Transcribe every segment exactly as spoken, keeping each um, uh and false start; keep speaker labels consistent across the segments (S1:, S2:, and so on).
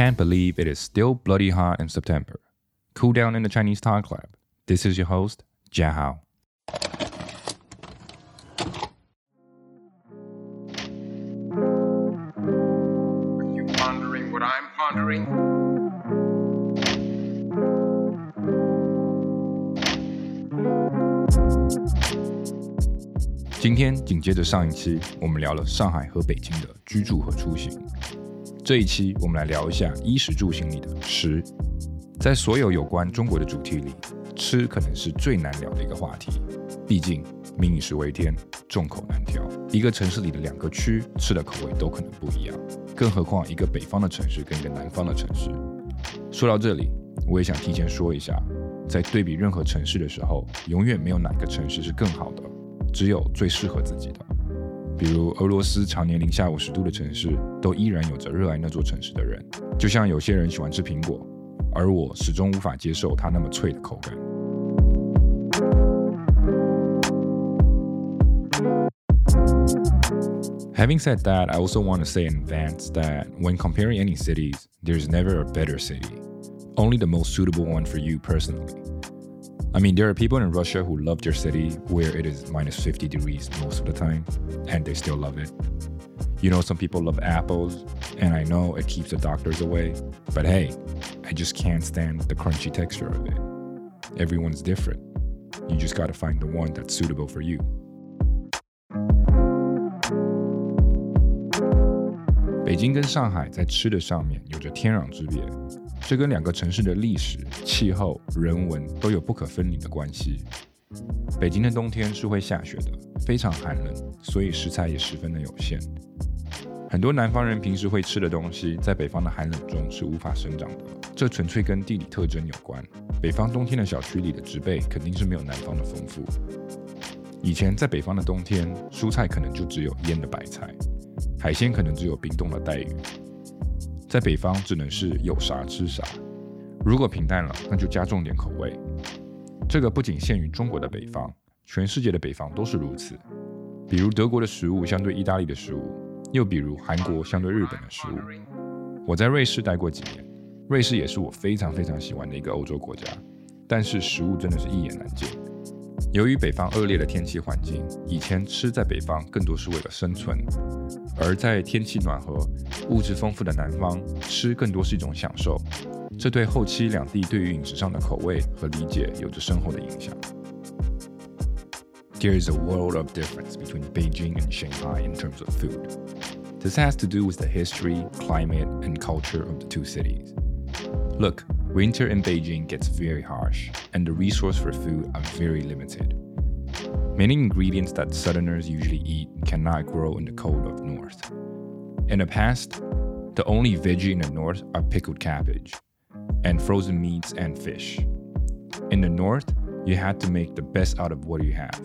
S1: Can't believe it is still bloody hot in September. Cool down in the Chinese Talk Lab. This is your host, Jia Hao.
S2: Are you pondering what I'm pondering?
S1: 今天紧接着上一期，我们聊了上海和北京的居住和出行。这一期我们来聊一下衣食住行里的吃。在所有有关中国的主题里，吃可能是最难聊的一个话题。毕竟民以食为天，众口难调。一个城市里的两个区吃的口味都可能不一样，更何况一个北方的城市跟一个南方的城市。说到这里，我也想提前说一下，在对比任何城市的时候，永远没有哪个城市是更好的，只有最适合自己的。比如俄罗斯常年零下五十度的城市，都依然有着热爱那座城市的人。就像有些人喜欢吃苹果，而我始终无法接受它那么脆的口感。Having said that, I also want to say in advance that when comparing any cities, there's never a better city, only the most suitable one for you personally.I mean, there are people in Russia who love their city where it is minus fifty degrees most of the time, and they still love it. You know, some people love apples, and I know it keeps the doctors away, but hey, I just can't stand the crunchy texture of it. Everyone's different. You just gotta find the one that's suitable for you. 北京跟上海在吃的上面有着天壤之别。这跟两个城市的历史、气候、人文都有不可分离的关系。北京的冬天是会下雪的，非常寒冷，所以食材也十分的有限。很多南方人平时会吃的东西，在北方的寒冷中是无法生长的，这纯粹跟地理特征有关。北方冬天的小区里的植被肯定是没有南方的丰富。以前在北方的冬天，蔬菜可能就只有腌的白菜，海鲜可能只有冰冻的带鱼。在北方只能是有啥吃啥，如果平淡了，那就加重点口味。这个不仅限于中国的北方，全世界的北方都是如此。比如德国的食物相对意大利的食物，又比如韩国相对日本的食物。我在瑞士待过几年，瑞士也是我非常非常喜欢的一个欧洲国家，但是食物真的是一言难尽。由于北方恶劣的天气环境，以前吃在北方更多是为了生存，而在天气暖和、物质丰富的南方，吃更多是一种享受。这对后期两地对于饮食上的口味和理解有着深厚的影响。There is a world of difference between Beijing and Shanghai in terms of food. This has to do with the history, climate, and culture of the two cities. Look, winter in Beijing gets very harsh, and the resources for food are very limited. Many ingredients that Southerners usually eat cannot grow in the cold of the north. In the past, the only veggie in the north are pickled cabbage, and frozen meats and fish. In the north, you had to make the best out of what you have.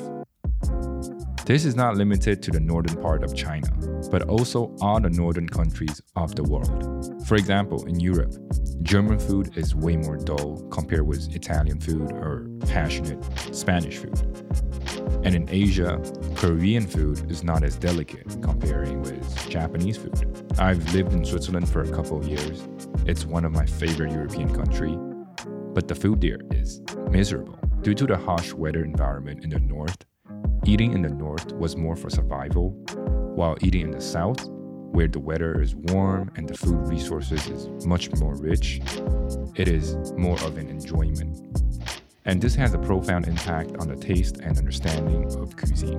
S1: This is not limited to the northern part of China, but also all the northern countries of the world. For example, in Europe, German food is way more dull compared with Italian food or passionate Spanish food. And in Asia, Korean food is not as delicate comparing with Japanese food. I've lived in Switzerland for a couple of years. It's one of my favorite European countries, but the food there is miserable. Due to the harsh weather environment in the north, eating in the north was more for survival, while eating in the south, where the weather is warm and the food resources is much more rich, it is more of an enjoyment. And this has a profound impact on the taste and understanding of cuisine.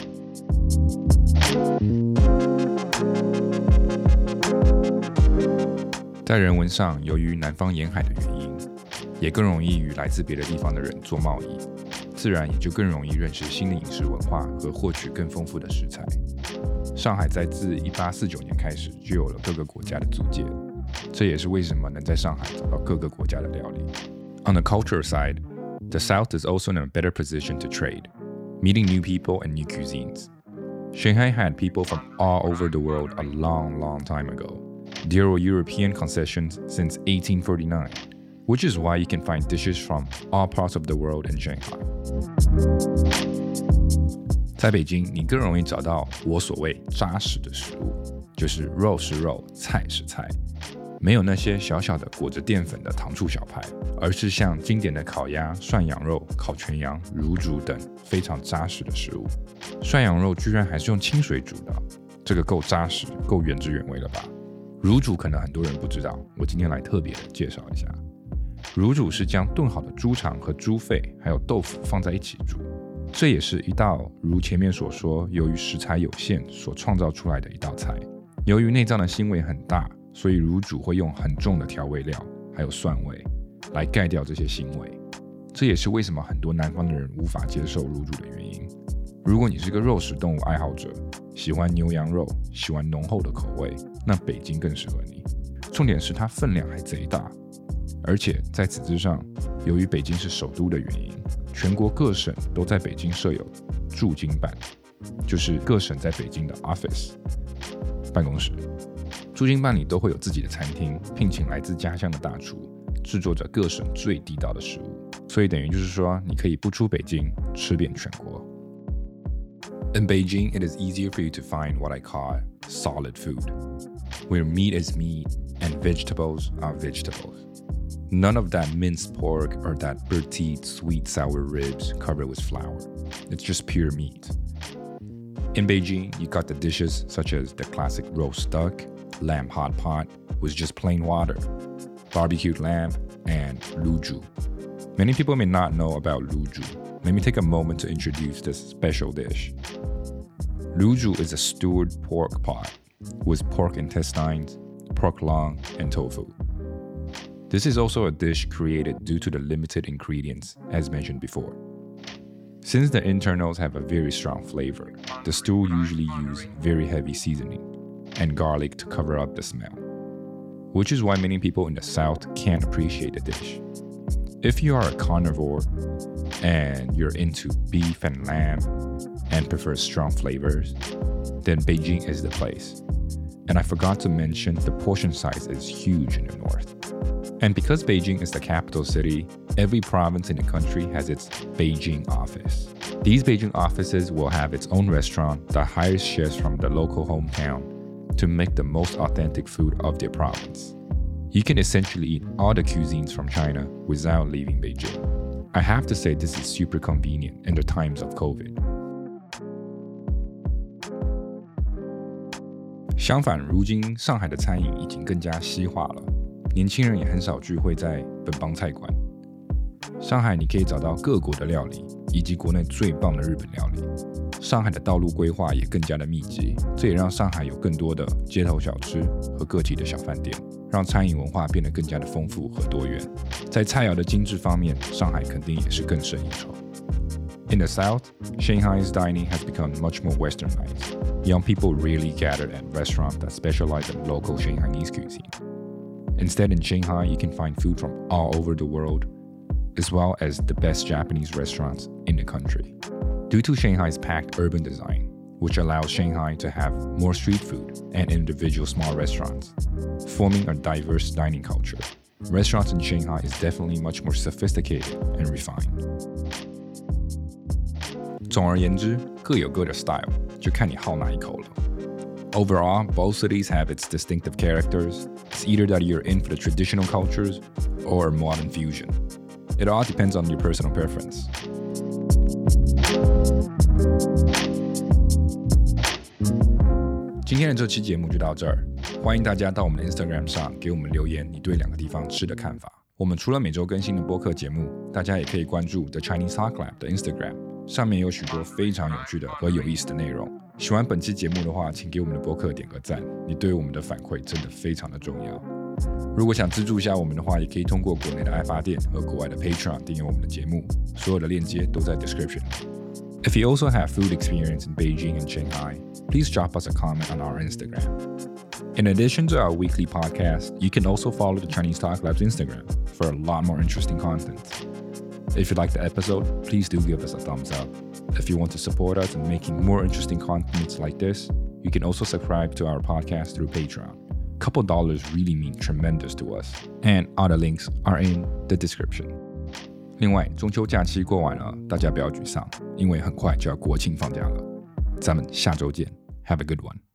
S1: 在人文上，由于南方沿海的原因，也更容易与来自别的地方的人做贸易，自然也就更容易认识新的饮食文化和获取更丰富的食材。上海在自一八四九年开始就有了各个国家的租界，这也是为什么能在上海找到各个国家的料理。On the cultural side, the South is also in a better position to trade, meeting new people and new cuisines. Shanghai had people from all over the world a long, long time ago. There were European concessions since eighteen forty-nine, which is why you can find dishes from all parts of the world in Shanghai. 在北京，你更容易找到我所谓扎实的食物，就是肉是肉，菜是菜。 没有那些小小的裹着淀粉的糖醋小排，而是像经典的烤鸭、涮羊肉、烤全羊、乳煮等非常扎实的食物。涮羊肉居然还是用清水煮的，这个够扎实，够原汁原味了吧？乳煮可能很多人不知道，我今天来特别的介绍一下。乳煮是将炖好的猪肠和猪肺还有豆腐放在一起煮，这也是一道如前面所说，由于食材有限所创造出来的一道菜。由于内脏的腥味很大，所以乳煮会用很重的调味料还有蒜味来盖掉这些腥味，这也是为什么很多南方的人无法接受乳煮的原因。如果你是个肉食动物爱好者，喜欢牛羊肉，喜欢浓厚的口味，那北京更适合你。重点是它分量还贼大，而且在此之上，由于北京是首都的原因，全国各省都在北京设有驻京办，就是各省在北京的 office 办公室。驻京办里都会有自己的餐厅，聘请来自家乡的大厨，制作着各省最地道的食物，所以等于就是说，你可以不出北京，吃遍全国。In Beijing, it is easier for you to find what I call solid food, where meat is meat and vegetables are vegetables. None of that minced pork or that bird-teeth sweet sour ribs covered with flour. It's just pure meat. In Beijing, you got the dishes such as the classic roast duck, lamb hot pot with just plain water, barbecued lamb, and luzhu. Many people may not know about luzhu. Let me take a moment to introduce this special dish. Luzhu is a stewed pork pot with pork intestines, pork lung, and tofu. This is also a dish created due to the limited ingredients, as mentioned before. Since the internals have a very strong flavor, the stew usually uses very heavy seasoning and garlic to cover up the smell, which is why many people in the South can't appreciate the dish. If you are a carnivore and you're into beef and lamb and prefer strong flavors, then Beijing is the place. And I forgot to mention the portion size is huge in the north. And because Beijing is the capital city, every province in the country has its Beijing office. These Beijing offices will have its own restaurant that hires chefs from the local hometown to make the most authentic food of their province. You can essentially eat all the cuisines from China without leaving Beijing. I have to say this is super convenient in the times of COVID. 相反，如今上海的餐饮已经更加西化了，年轻人也很少聚会在本帮菜馆。上海你可以找到各国的料理，以及国内最棒的日本料理。上海的道路规划也更加的密集，这也让上海有更多的街头小吃和个体的小饭店，让餐饮文化变得更加的丰富和多元。在菜肴的精致方面，上海肯定也是更胜一筹。In the South, Shanghai's dining has become much more westernized. Young people rarely gather at restaurants that specialize in local Shanghainese cuisine. Instead, in Shanghai, you can find food from all over the world, as well as the best Japanese restaurants in the country. Due to Shanghai's packed urban design, which allows Shanghai to have more street food and individual small restaurants, forming a diverse dining culture. Restaurants in Shanghai is definitely much more sophisticated and refined. 总而言之，各有各的 style， 就看你好哪一口了。Overall, both cities have its distinctive characters. It's either that you're in for the traditional cultures or a modern fusion. It all depends on your personal preference. 今天的这期节目就到这儿，欢迎大家到我们的 Instagram 上给我们留言你对两个地方吃的看法。我们除了每周更新的播客节目，大家也可以关注 The Chinese Talk Lab 的 Instagram， 上面有许多非常有趣的和有意思的内容。喜欢本期节目的话，请给我们的播客点个赞，你对我们的反馈真的非常的重要。如果想资助一下我们的话，也可以通过国内的爱发电和国外的 Patreon 订阅我们的节目，所有的链接都在 description。If you also have food experience in Beijing and Shanghai, please drop us a comment on our Instagram. In addition to our weekly podcast, you can also follow the Chinese Talk Lab's Instagram for a lot more interesting content. If you like the episode, please do give us a thumbs up. If you want to support us in making more interesting contents like this, you can also subscribe to our podcast through Patreon. A couple dollars really mean tremendous to us, and other links are in the description. 另外，中秋假期过完了，大家不要沮丧，因为很快就要国庆放假了。咱们下周见 ，Have a good one.